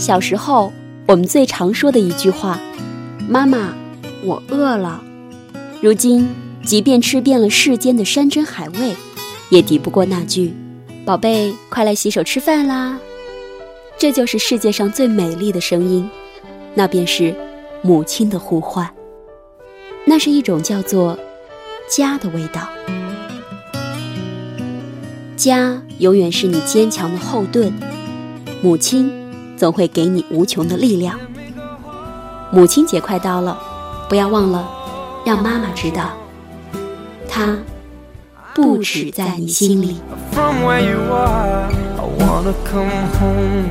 小时候我们最常说的一句话，妈妈，我饿了。如今即便吃遍了世间的山珍海味，也抵不过那句，宝贝，快来洗手吃饭啦。这就是世界上最美丽的声音，那便是母亲的呼唤。那是一种叫做家的味道。家永远是你坚强的后盾，母亲总会给你无穷的力量。母亲节快到了，不要忘了让妈妈知道，她不止在你心里。 From where you are, I wanna come home.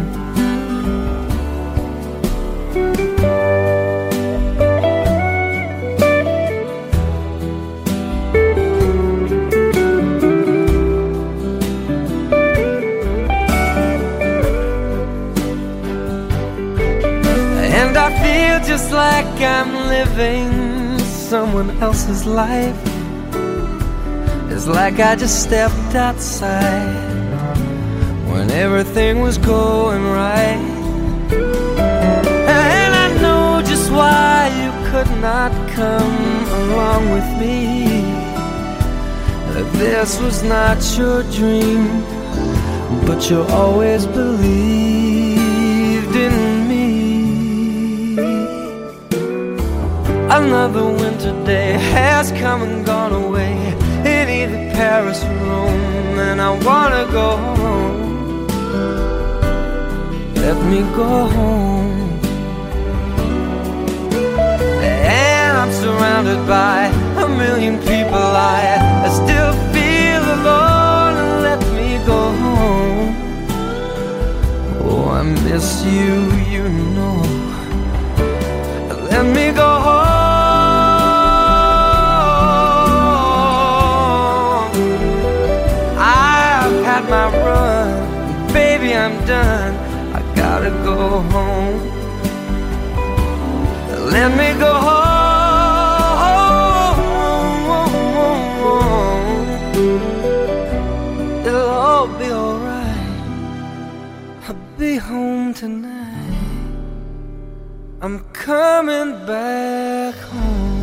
And I feel just like I'm living someone else's life. It's like I just stepped outside when everything was going right. And I know just why you could not come along with me. That this was not your dream, but you always believed in me. Another winter day has come and gone away in either Paris or Rome, and I wanna go home. Let me go home. And I'm surrounded by a million people. I still feel alone. Let me go home. Oh, I miss you, you know. Let me go home. My run, baby, I'm done. I gotta go home. Let me go home. It'll all be alright. I'll be home tonight. I'm coming back home.